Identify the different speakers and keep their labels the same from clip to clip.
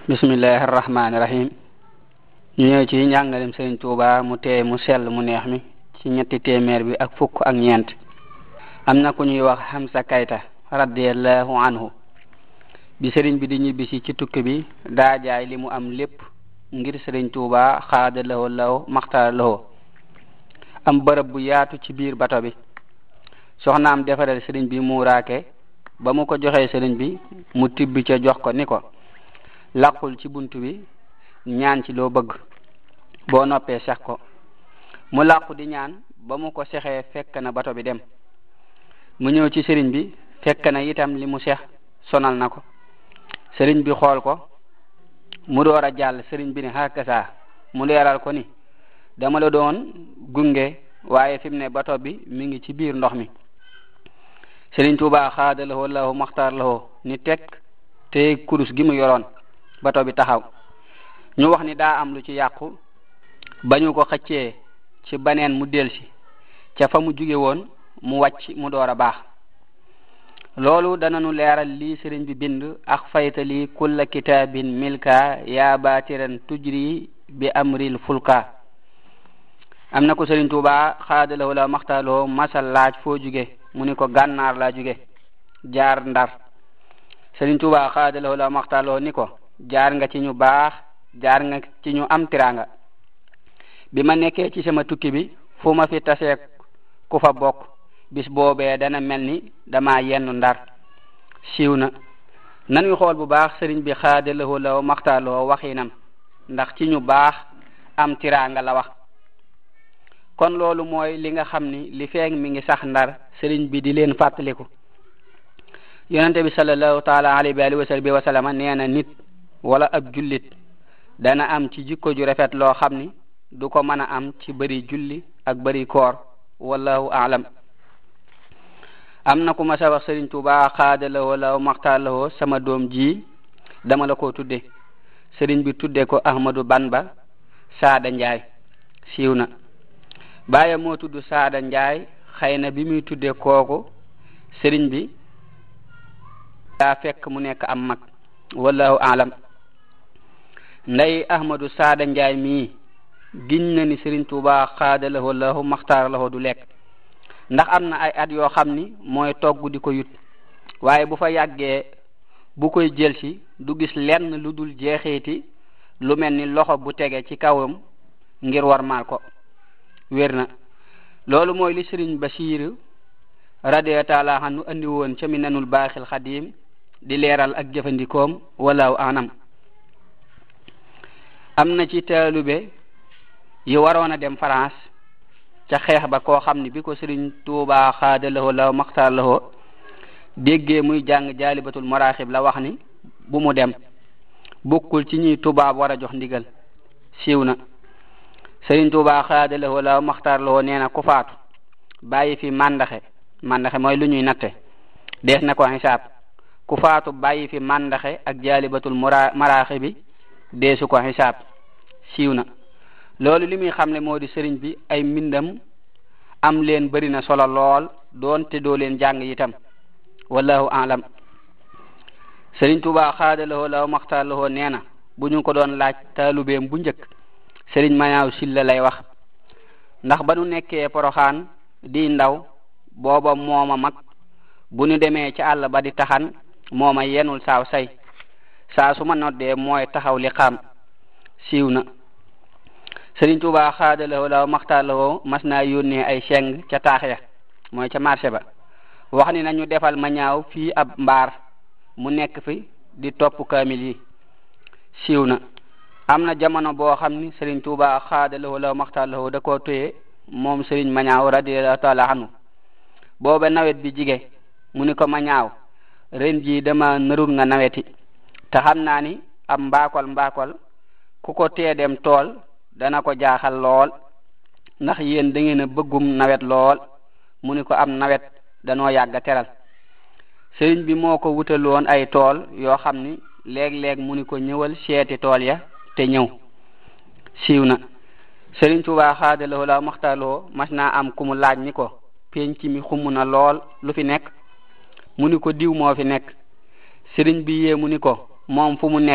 Speaker 1: bismillahir rahmanir rahim. ñu ñëw ci njàngalem Serigne Touba mu tee mu sell mu neex mi ci ñetti téeméer bi ak fukk ak ñeent. am na ku ñuy wax Hamza Kayta radiyallahu anhu bi Serigne bi di ñibbisi ci tukki bi daa jaay li mu am lépp ngir Serigne Touba xaada lahu law maxtaar lahu am bërëb bu yaatu ci biir bato bi. soxnaam defaral Serigne bi muuraake ba mu ko joxee Serigne bi mu tibbi ca jox ko ni ko laqul ci buntu bi ñaan ci loo bëgg boo noppee sex ko. mu làqu di ñaan ba mu ko sexee fekk na bato bi dem. mu ñëw ci Serigne bi fekk na itam li mu sex sonal na ko. Serigne bi xool ko mu door a jàll. Serigne bi ne hakasa mu leeral ko ni dama la doon gunge waaye fi mu ne bato bi mi ngi ci biir ndox mi. Serigne Touba xaada lahu lahu maxtaar lahu ni teg te kurus gi mu yoroon bato bi taxaw. ñu wax ni daa am lu ci yàqu ba ñu ko xëccee ci baneen mu delsi ca fa mu jóge woon mu wàcc mu door a baax. loolu dananu leeral lii Serigne bi bind ak faytali kulla kitaabin milka yaa baatiran tujri bi amril fulka. am na ko Serigne Touba xaada lahu lahu maxtaar lahu masal laaj foo jóge mu ni ko gànnaar laa jóge jaar Ndar. Serigne Touba xaada lahu lahu maxtaar lahu ni ko jaar nga ci ñu baax jaar nga ci ñu am tiranga. bi ma nekkee ci sama tukki bi fu ma fi tasee ku fa bokk bis boobee dana mel ni dama yenn Ndar. siiw na nanuy xool bu baax Serigne bi xaada lahu lahu maxtaar lahu waxinam ndax ci ñu baax am tiranga la wax. kon loolu mooy li nga xam ni li feeg mi ngi sax Ndar Serigne bi di leen fàttaliku. yonente bi sallallahu taala alayhi wa sallam nee na nit wala ab jullit dana am ci jikko ju rafet loo xam ni du ko mën a am ci bëri julli ak bëri koor wallahu aalam. am na ku ma sa wax Serigne Touba xaada lahu lahu maxtaar lahu sama doom ji dama la ko tudde. Serigne bi tudde ko Ahmadou Bamba Saada Njaay. siiw na baayam moo tudd Saada Njaay. xëy na bi muy tudde kooku Serigne bi daa fekk mu nekk am mag wallahu aalam. nday Ahmadou Saada Njaay mii giñ na ni Serigne Touba xaada lahu lahu maxtaar lahu du lekk ndax am na ay at yoo xam ni mooy togg di ko yut waaye bu fa yàggee bu koy jëlsi du gis lenn lu dul jeexeeti lu mel ni loxo bu tege ci kawam ngir war maal ko. wér na loolu mooy li Serigne Basiir radiyallahu taala anhu andi woon ca Minanul Baaxil Xadiim di leeral ak jëfandikoom walaaw anam. am na ci taalube yi waroon a dem France ca xeex ba koo xam ni bi ko Serigne Touba xaada lahu lahu maxtaar lahu déggee muy jàng jaalibatul maraaxib la wax ni bu mu dem bokkul ci ñuy tubaab war a jox ndigal. siiw na Serigne Touba xaada lahu lahu maxtaar lahu nee na ku faatu bàyyi fi mandaxe mooy lu ñuy natte dees na ko xisaab. ku faatu bàyyi fi mandaxe ak jaalibatul maraaxib bi deesu ko xisaab. siiw na loolu li muy xamle moo di Serigne bi ay mbindam am leen bari na solo lool doonte doo leen jàng itam wallahu aalam. Serigne Touba xaada lahu lahu maxtaar lahu nee na bu ñu ko doon laaj taalubeem bu njëkk Serigne Mañaaw Silla lay wax ndax ba nu nekkee Poroxaan di ndaw booba mooma mag bu ñu demee ci àll ba di taxan mooma yenul saaw say saa su ma noddee mooy taxaw li xam. siiw na Serigne Touba xaada lahu lahu maxtaar lahu mas naa yónnee ay seng ca taax ya mooy ca marché ba wax ni nañu defal Mañaaw fii ab mbaar mu nekk fi di topp kaamil yi. siiw na am na jamono boo xam ni Serigne Touba xaada lahu lahu maxtaar lahu da koo téye moom Serigne Mañaaw radiyallahu taala anhu booba nawet bi jige mu ni ko Mañaaw ren ji dama narul nga naweti te xam naa ni ab mbaakol ku ko tee dem tool dana ko jaaxal lool ndax yéen da ngeen a bëggum nawet lool. mu ni ko am nawet danoo yàgg teral. Serigne bi moo ko wutaloon ay tool yoo xam ni léeg-léeg mu ni ko ñëwal seeti tool ya te ñëw. siiw na Serigne Touba xaada lahu lahu maxtaar lahu mas naa am ku mu laaj ni ko penc mi xumm na lool lu fi nekk mu ni ko diw moo fi nekk. Serigne bi yee mu ni ko moom fu mu nekk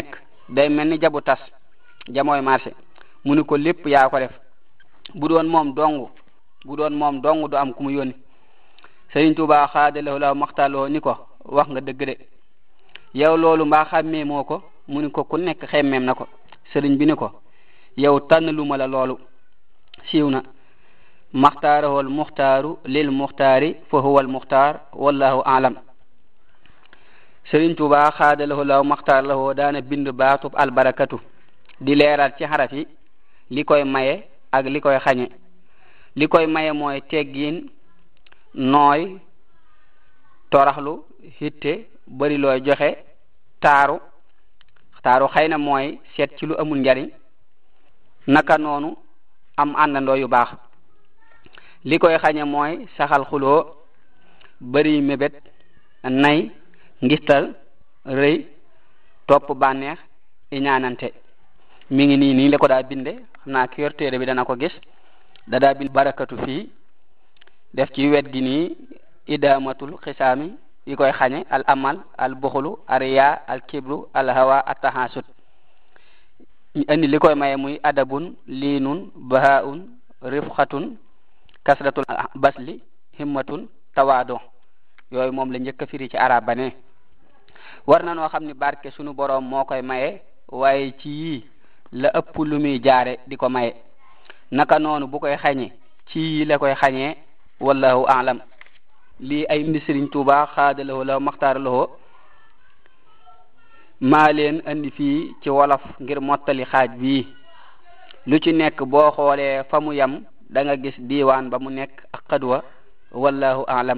Speaker 1: day mel ni jabu tas jamooy marché mu ni ko lépp yaa ko def bu doon moom dong du am ku mu yónni Sëriñ Tuubaa xaadalawoo la maxtaaloo ni ko wax nga dëgg de yow loolu mbaa xàmmee moo ko mu ni ko ku nekk xemmeem na ko sëriñ bi ni ko yow tànn lu ma la loolu siiw na maxtaarahul muxtaaru lil muxtaari fa huwa al muxtaar wallahu alam Sëriñ Tuubaa xaadalawoo la maxtaar lawoo daana bind baatub albarakatu di leeral ci xaraf yi li koy maye ak li koy xañe li koy maye mooy teggiin nooy toraxlu hitte bari looy joxe taaru xëy na mooy seet ci lu amul njariñ naka noonu am àndandoo yu baax li koy xañe mooy saxal xuloo bari mébét nay ngistal rëy topp bànneex iñaanante mi ngi nii la ko daa binde xam naa ki yor téere bi dana ko gis daa bind barakatu fii def ci wet gi nii idamatul xisaami yi koy xañe al amal al buxlu ariya al kibru al hawa at tahasud andi li koy maye muy adabun liinun bahaun rifxatun kasratul basli himmatun tawaado yooyu moom la njëkk a firi ci arab ba ne war na noo xam ni barke sunu boroom moo koy maye waaye ci yii la ëpp lu muy jaare di ko maye naka noonu bu koy xañe ci yii la koy xañee wallahu a'lam lii ay mbi Sëriñ Tuubaa xaadalawoo la maxtaar lawoo maa leen andi fii ci wolof ngir mottali xaaj bii lu ci nekk boo xoolee fa mu yam da nga gis diiwaan ba mu nekk ak xadwa wallahu a'lam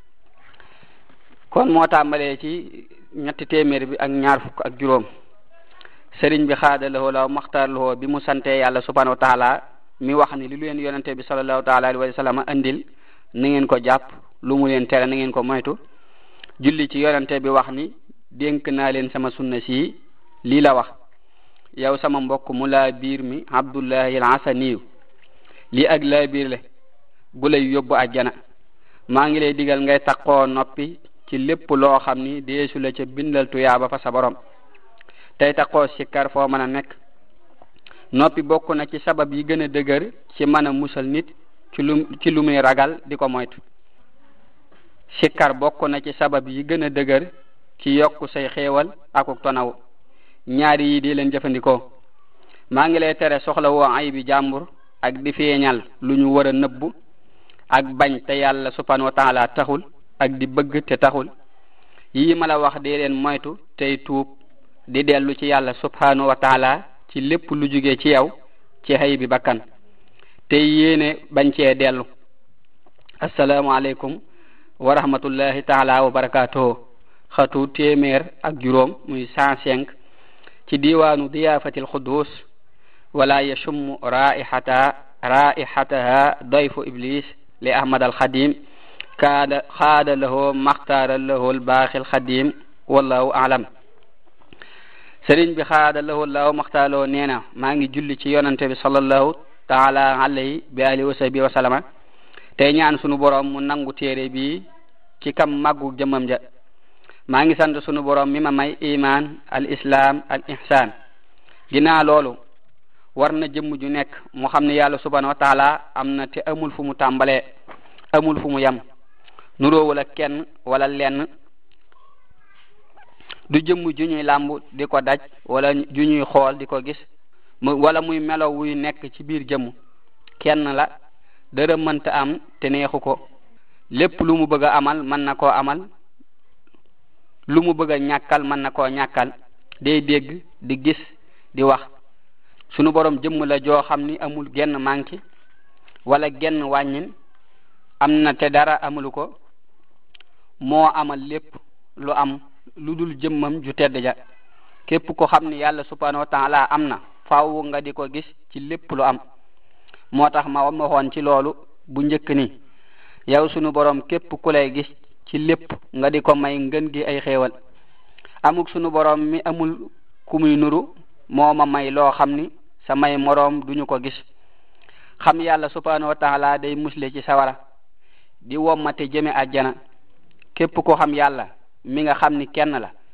Speaker 1: kon moo tàmbalee ci ñetti téeméer bi ak ñaar fukk ak juróom sëriñ bi xaadalawoo la maxtaar lawoo bi mu sante yàlla subhanahu wa taala mi wax ni li leen yonente bi sallallahu taala alayhi wa sallam andil na ngeen ko jàpp lu mu leen tere na ngeen ko moytu julli ci yonente bi wax ni dénk naa leen sama sunna si lii la wax yow sama mbokk mu laa biir mi Abdullahi al-Asaniyu lii ak laa biir le gu lay yóbbu àjjana maa ngi lay digal ngay taqoo noppi ci lépp loo xam ni deesu la ca bindal tuyaaba fa sa borom tey taqoo sikkar foo mën a nekk noppi bokk na ci sabab yi gën a dëgër ci mën a musal nit ci lu muy ragal di ko moytu sikkar bokk na ci sabab yi gën a dëgër ci yokku say xéewal akuk tonaw ñaari yi di leen jëfandikoo maa ngi lay tere soxla woo ay bi jàmbur ak di feeñal lu ñu war a nëbbu ak bañ te yàlla subhanahu wa taala taxul ak di bëgg te taxul yii ma la wax di leen moytu tey tuub di dellu ci yàlla subhanahu wa taala ci lépp lu jóge ci yow ci xëy bi bakkan te yéene bañ cee dellu assalaamu aleykum wa rahmatullahi taala wa barakatuhu xatu téeméer ak juróom muy 105 ci diwaanu diyaafatil xuddus wala yashummu raihataha dayfu iblis li ahmad al xadim xaada lahu maxtaara lahu al baaxil xadim wallahu alam sëriñ bi xaada lahu allahu maxtaaloo nee na maa ngi julli ci yonante bi sallallahu taala alayhi bi alihi wa sahbihi wa sallama tey ñaan sunu borom mu nangu téere bi ci kam màggu jëmmam ja maa ngi sant sunu borom mi ma may iman al islam al ihsan ginnaaw loolu war na jëmm ju nekk mu xam ne yàlla subhanahu wa taala am na te amul fu mu tàmbalee amul fu mu yam nuroowul ak kenn wala lenn du jëmm ju ñuy làmb di ko daj wala ju ñuy xool di ko gis wala muy melo wuy nekk ci biir jëmm kenn la dara mënta am te neexu ko lépp lu mu bëgg a amal mën na koo amal lu mu bëgg a ñàkkal mën na koo ñàkkal day dégg di gis di wax sunu borom jëmm la joo xam ni amul genn manki wala genn wàññin am na te dara amulu ko moo amal lépp lu am lu dul jëmmam ju tedd ja képp ko xam ni yàlla subhanahu wa ta'ala am na faaw nga di ko gis ci lépp lu am moo tax ma waxoon ci loolu bu njëkk ni yow sunu borom képp ku lay gis ci lépp nga di ko may ngën gi ay xéewal amuk sunu borom mi amul ku muy nuru moo ma may loo xam ni sa may moroom duñu ko gis xam yàlla subhanahu wa ta'ala day musle ci sawara di wommate jëme àjjana képp ko xam yàlla mi nga xam ni kenn la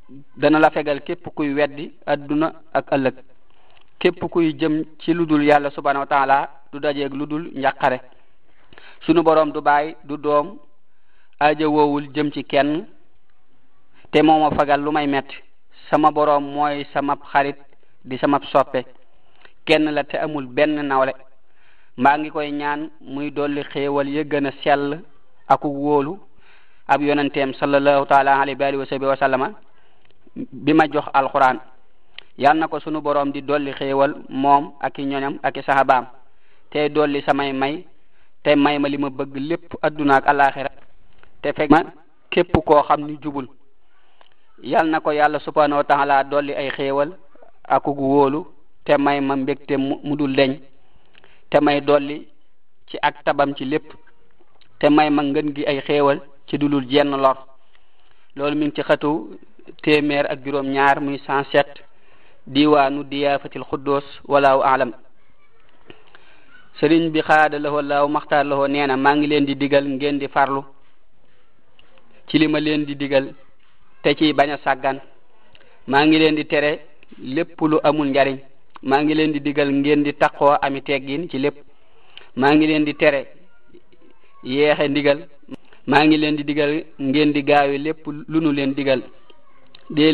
Speaker 1: dana la fegal képp kuy weddi adduna ak ëllëg képp kuy jëm ci ludul yàlla subhanahu wa ta'ala du dajeeg ludul njàqare sunu borom du baay du doom aaja woowul jëm ci kenn te mooma fagal lu may metti sama borom mooy sama xarit di sama soppe kenn la te amul benn nawle maa ngi koy ñaan muy dolli xéewal ya gën a sell ak wóolu ab yonenteem sallallahu taala alayhi wa sallama bi ma jox alquran yal na ko sunu borom di dolli xéewal moom ak i ñoñam ak i sahabaam te dolli samay may te may ma li ma bëgg lépp adduna ak alaxira te fekk ma képp koo xam ni jubul yal na ko yàlla subhanahu wa ta'ala dolli ay xéewal ak wóolu te may ma mbégte mu dul deñ te may dolli ci ak tabam ci lépp te may ma ngën gi ay xéewal ci dulul jenn lor loolu mi ngi ci xatu téeméer ak juróom ñaar muy 107 diwaanu diyaafatil xuddoos walaahu alam sëriñ bi xaada lahoo laaw maxtaar lahoo nee na maa ngi leen di digal ngeen di farlu ci li ma leen di digal te ci bañ a sàggan maa ngi leen di tere lépp lu amul njariñ maa ngi leen di digal ngeen di taqoo ami teggin ci lépp maa ngi leen di tere yeexe ndigal maa ngi leen di digal ngeen di gaawe lépp lu nu leen digal dee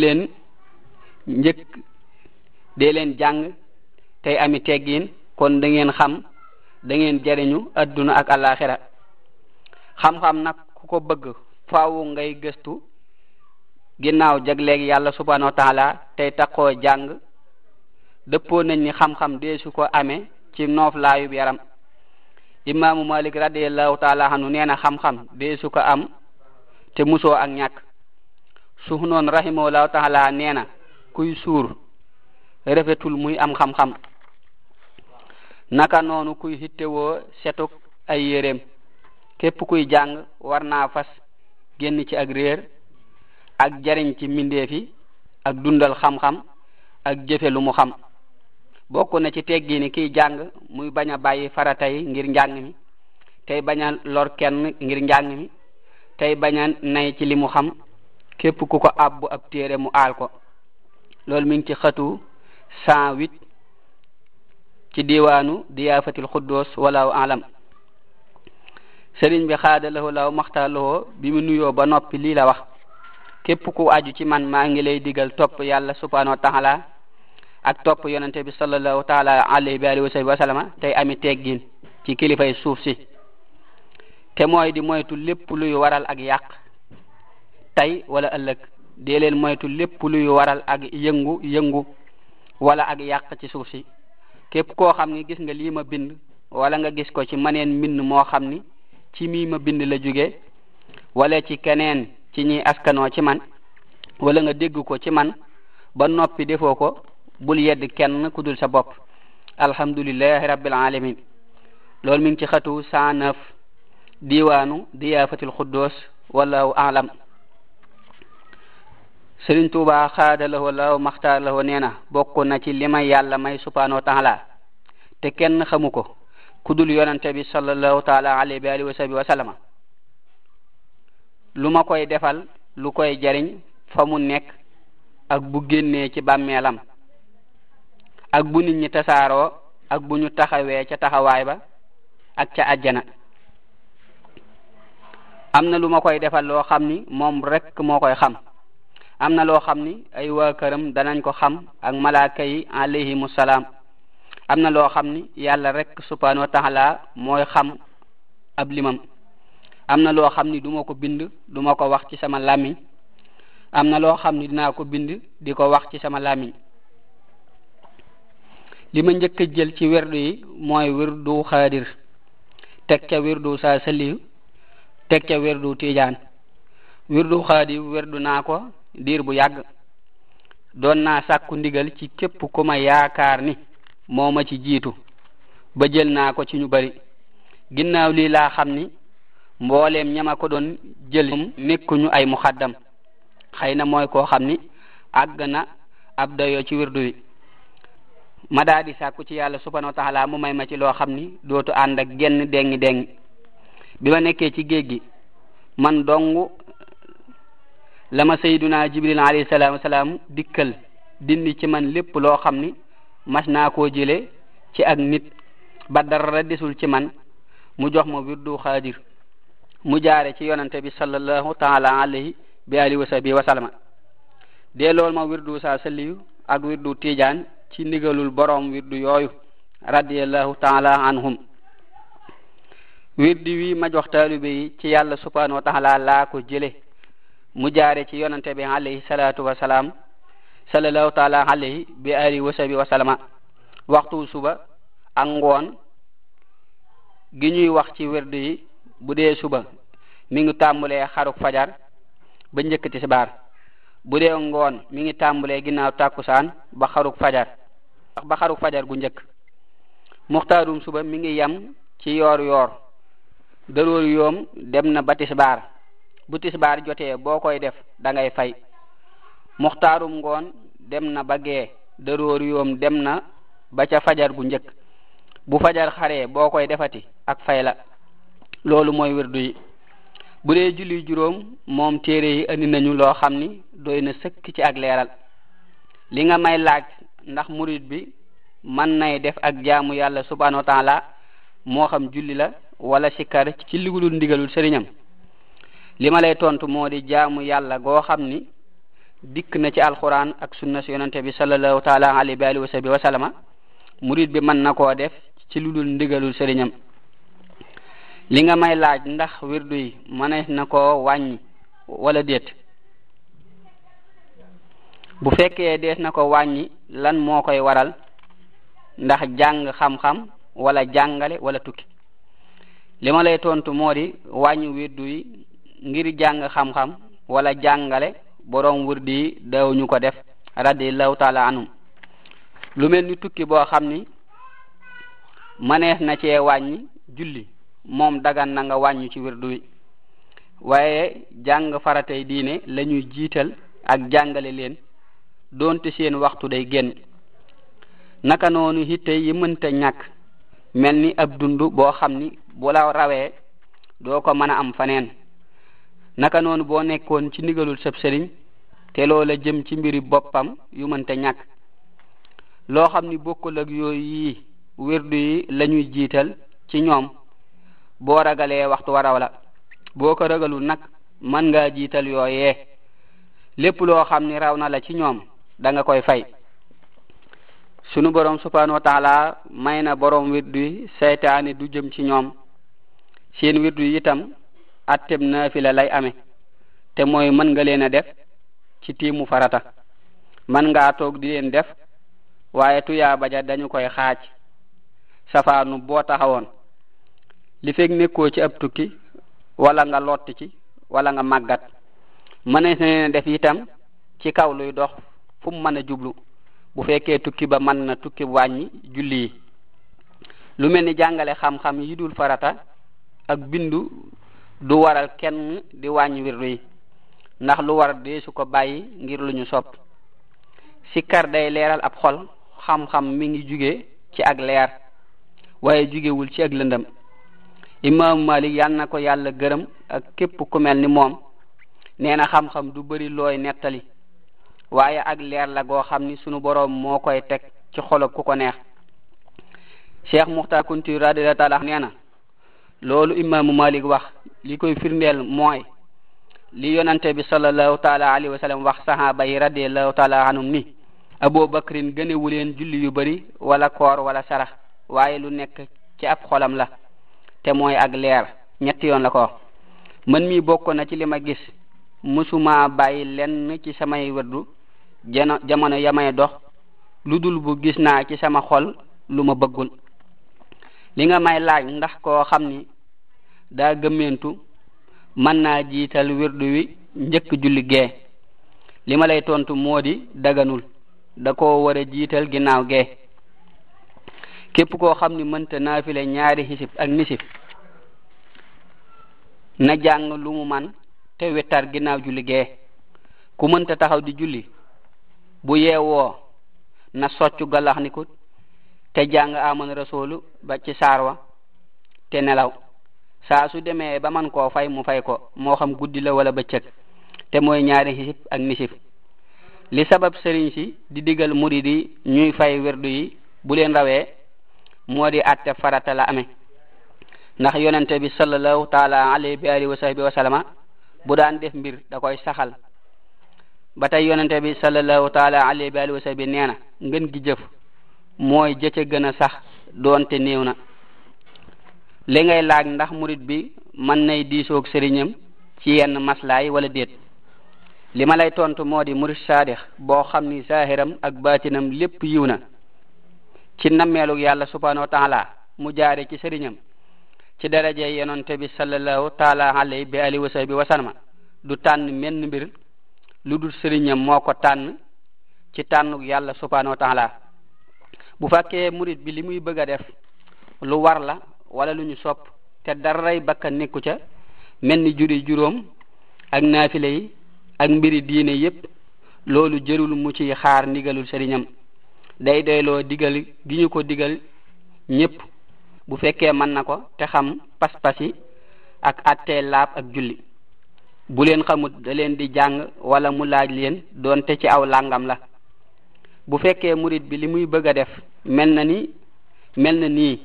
Speaker 1: leen jàng tey ami teggin kon da ngeen xam da ngeen jariñu adduna ak alaxira xam-xam nag ku ko bëgg faawu ngay gëstu ginnaaw jagleeg yàlla subhanahu wa ta'ala tey taxoo jàng dëppoo nañ ni xam-xam deesu ko amee ci noof laayub yaram imaamu Malik radiyallahu ta'ala anhu nee na xam-xam deesu ko am te musoo ak ñàkk suhnoon rahimahullahu ta'ala nee na kuy suur rafetul muy am xam-xam naka noonu kuy hittewoo setuk ay yéreem képp kuy jàng war naa fas génn ci ak réer ak jariñ ci mbindeef yi ak dundal xam-xam ak jëfe lu mu xam bokk na ci teggi ni kiy jàng muy bañ a bàyyi farata yi ngir njàng mi tey bañ a lor kenn ngir njàng mi tey bañ a nay ci li mu xam képp ku ko abbu ab téere mu aal ko loolu mi ngi ci xatu 108 ci diwaanu diyaafatil xuddoos walaahu alam sëriñ bi xaada lahoo law maxtaar lahoo bi mu nuyoo ba noppi lii la wax képp ku aju ci man maa ngi lay digal topp yàlla subhanahu wa ta'ala ak topp yonente bi sallallahu ta'ala alayhi wa sallama tey ami teggin ci kilifay suuf si te mooy di moytu lépp luy waral ak yàq tey wala ëllëg dee leen moytu lépp luy waral ak yëngu wala ak yàq ci suuf si képp koo xam ni gis nga lii ma bind wala nga gis ko ci maneen mbind moo xam ni ci mii ma bind la jóge wala ci keneen ci ñi askanoo ci man wala nga dégg ko ci man ba noppi defoo ko bul yedd kenn ku dul sa bopp alhamdulillahi rabbil alamin loolu mi ngi ci xatu 109 diwaanu diyaafatil xuddoos wallahu alam Sëriñ Tuuba xaada lahoo law maxtaar lahoo nee na bokk na ci li may yàlla may subhanahu wa ta'ala te kenn xamu ko ku dul yonente bi sallallahu ta'ala alayhi wa sallama lu ma koy defal lu koy jariñ fa mu nekk ak bu génnee ci bàmmeelam ak bu nit ñi tasaaroo ak bu ñu taxawee ca taxawaay ba ak ca àjjana am na lu ma koy defal loo xam ni moom rek moo koy xam am na loo xam ni ay waa këram danañ ko xam ak malaaka yi alayhimu salaam am na loo xam ni yàlla rek subhanahu wa ta'ala mooy xam ab limam am na loo xam ni duma ko bind duma ko wax ci sama làmmiñ am na loo xam ni dinaa ko bind di ko wax ci sama làmmiñ li ma njëkk a jël ci werdu yi mooy wirdu xaadir teg ca wirdu saa saliw teg ca wirdu tiijaan wirdu xaadir wirdu naa ko diir bu yàgg doon naa sàkku ndigal ci képp ku ma yaakaar ni moo ma ci jiitu ba jël naa ko ci ñu bari ginnaaw lii laa xam ni mbooleem ñama ko doon jël nekkuñu ay muxaddam xëy na mooy koo xam ni àgg na ab dayoo ci wirdu wi ma daa di sàkku ci yàlla subhanahu wa ta'ala mu may ma ci loo xam ni dootu ànd ak genn dengi bi ma nekkee ci géej gi man dong lama sayyiduna jibril alayhi salaam dikkal dindi ci man lépp loo xam ni mas naa koo jële ci ak nit ba dara desul ci man mu jox ma wirdu xaadir mu jaare ci yonante bi sallallahu taala alayhi bi alihi wa sahbihi wa sallama dee lool ma wirdu sa salliyu ak wirdu tijaan ci ndigalul borom wirdu yooyu radiyallahu taala anhum wirdi wi ma jox taalibe yi ci yàlla subhanahu wa taala laa ko jële mu jaare ci yonante bi alayhi salatu wa salaam sallallahu taala alayhi bi alihi wa sahbihi wa sallama waxtu suba ak ngoon gi ñuy wax ci wirdu yi bu dee suba mi ngi tàmbalee xaruk fajar ba njëkk tisbaar bu dee ngoon mi ngi tàmbalee ginnaaw tàkkusaan ba xaruk fajar gu njëkk muxtaarum suba mi ngi yam ci yoor yoor daroor yoom dem na ba tisbaar bu tisbaar jotee boo koy def da ngay fay muxtaarum ngoon dem na ba gee daroor yoom dem na ba ca fajar gu njëkk bu fajar xaree boo koy defati ak fay la loolu mooy wirdu yi bu dee julli juróom moom téere yi andi nañu loo xam ni doy na sëkk ci ak leeral li nga may laaj ndax murid bi mën nay def ak jaamu yàlla subhanahu wa taala moo xam julli la wala sikkar ci ligulul ndigalul sëriñam li ma lay tontu moo di jaamu yàlla goo xam ni dikk na ci alquran ak sunna si yonante bi sallallahu taala alayhi wa sahbihi wa sallama murid bi mën na koo def ci ludul ndigalul sëriñam li nga may laaj ndax wirdu yi mënees na koo wàññi wala déet bu fekkee dees na ko wàññi lan moo koy waral ndax jàng xam-xam wala jàngale wala tukki li ma lay tontu moo di wàññi wirdu yi ngir jàng xam-xam wala jàngale borom wirdu yi daawuñu ko def radiyallahu taala anhum lu mel ni tukki boo xam ni mënees na cee wàññi julli moom dagan na nga wàññi ci wirdu wi waaye jàng faratay diine lañuy jiital ak jàngale leen doonte seen waxtu day génn naka noonu hitte yi mënta ñàkk mel ni ab dund boo xam ni bu la rawee doo ko mën a am faneen naka noonu boo nekkoon ci ndigalul sab sëriñ te loola jëm ci mbiri boppam yu mënta ñàkk loo xam ni bokkul ak yooyu yi wirdu yi lañuy jiital ci ñoom boo ragalee waxtu waraw la boo ko ragalul nag mën ngaa jiital yooyee lépp loo xam ni raw na la ci ñoom da nga koy fay sunu borom subhanahu wa taala may na borom wirdu yi seytaane du jëm ci ñoom seen wirdu yi itam atteb naafila lay amee te mooy mën nga leen a def ci tiimu farata mën ngaa toog di leen def waaye tuyaaba ja dañu koy xaaj safaanu boo taxawoon li fekk nekkoo ci ab tukki wala nga lott ci wala nga màggat mënees na leen def itam ci kaw luy dox fu mu mën a jublu bu fekkee tukki ba mën na tukki wàññi julli yi lu mel ni jàngale xam-xam yi dul farata ak bindu du waral kenn di wàññi wirdu yi ndax lu war deesu ko bàyyi ngir lu ñu sopp sikkar day leeral ab xol xam-xam mi ngi jóge ci ak leer waaye jugewul ci ak lëndëm imam Malik yal na ko yàlla gërëm ak képp ku mel ni moom nee na xam-xam du bari looy nettali waaye ak leer la goo xam ni sunu boroom moo koy teg ci xolob ku ko neex Cheikh Muxtar Kunti radiyallahu taala nee na loolu imaamu Malik wax li koy firndeel mooy li yonante bi sallallahu taala alayhi wa sallam wax sahaba yi radiyallahu taala anhum ni Abu Bakrin gënewu leen julli yu bari wala koor wala sarax waaye lu nekk ci ab xolam la te mooy ak leer ñetti yoon la ko wax man mi bokk na ci li ma gis musuma bàyyi lenn ci samay wirdu jamono yamay dox lu dul bu gis naa ci sama xol lu ma bëggul li nga may laaj ndax koo xam ni daa gëmmentu mën naa jiital wirdu wi njëkk julli gee li ma lay tontu moo di daganul da koo war a jiital ginnaaw gee képp koo xam ni mënta naafile ñaari xisib ak nisib na jàng lu mu man te wettar ginnaaw julli gee ku mënta taxaw di julli bu yeewoo na soccu galax ni ko te jàng aman rasulu ba ci saar wa te nelaw saa su demee ba man koo fay mu fay ko moo xam guddi la wala bëccëg te mooy ñaari xisib ak nisif. li sabab sëriñ si di digal murid yi ñuy fay werdu yi bu leen rawee moo di atte farata la amee ndax yonente bi sallallahu taala alayhi bi alihi wa sahbihi wa sallama bu daan def mbir da koy saxal ba tey yonente bi sallallahu taala alayhi bi alihi wa sahbihi nee na ngën gi jëf mooy jëcc gën a sax doonte néew na. li ngay laaj ndax murid bi mën nay diisoog sëriñam ci yenn maslaay wala déet li ma lay tontu moo di murid saadix boo xam ni saahiram ak baatinam lépp yiw na ci nammeelug yàlla subhanahu wa taala mu jaare ci sëriñam ci daraje yonente bi sallallahu taala alayhi bi alihi wa sahbihi wa sallama du tànn menn mbir lu dul sëriñam moo ko tànn ci tànnug yàlla subhanahu wa taala. bu fekkee murid bi li muy bëgg a def lu war la wala lu ñu sopp te daray bakka nekku ca mel ni juri juróom ak naafile yi ak mbiri diine yépp loolu jërul mu ci xaar ndigalul sëriñam day doyloo digal gi ñu ko digal ñépp bu fekkee mën na ko te xam pas-pas yi ak attee laab ak julli. bu leen xamut da leen di jàng wala mu laaj leen doonte ci aw làngam la. bu fekkee murid bi li muy bëgg a def mel na nii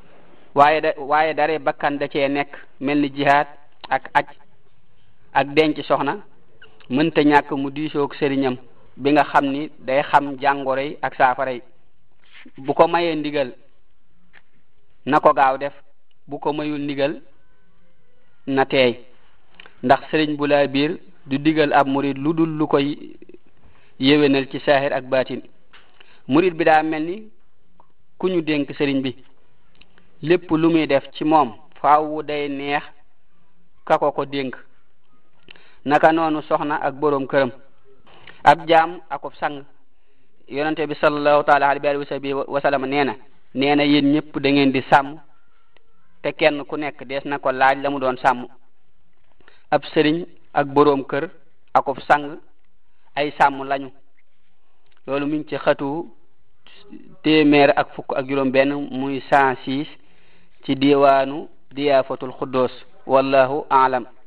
Speaker 1: waaye dare bakkan da cee nekk mel ni jihaad ak aj ak denc soxna mënta ñàkk mu diisoog sëriñam bi nga xam ni day xam jàngoro yi ak saafara yi. bu ko mayee ndigal na ko gaaw def bu ko mayul ndigal na teey ndax sëriñ bu laa biir du digal ab murid lu dul lu koy yéwénal ci saahir ak baatin. murid bi daa mel ni ku ñu dénk sëriñ bi lépp lu muy def ci moom faaw day neex ka ko dénk naka noonu soxna ak boroom këram ab jaam akub sang. yonente bi sallallahu taala alayhi wa sallam nee na yéen ñëpp da ngeen di sàmm te kenn ku nekk dees na ko laaj la mu doon sàmm. ab sëriñ ak boroom kër akub sang ay sàmm lañu. loolu mi ngi ci xatu téeméer ak fukk ak juróom benn muy 106 ci diwaanu diyaafatul xuddoos wallahu aalam.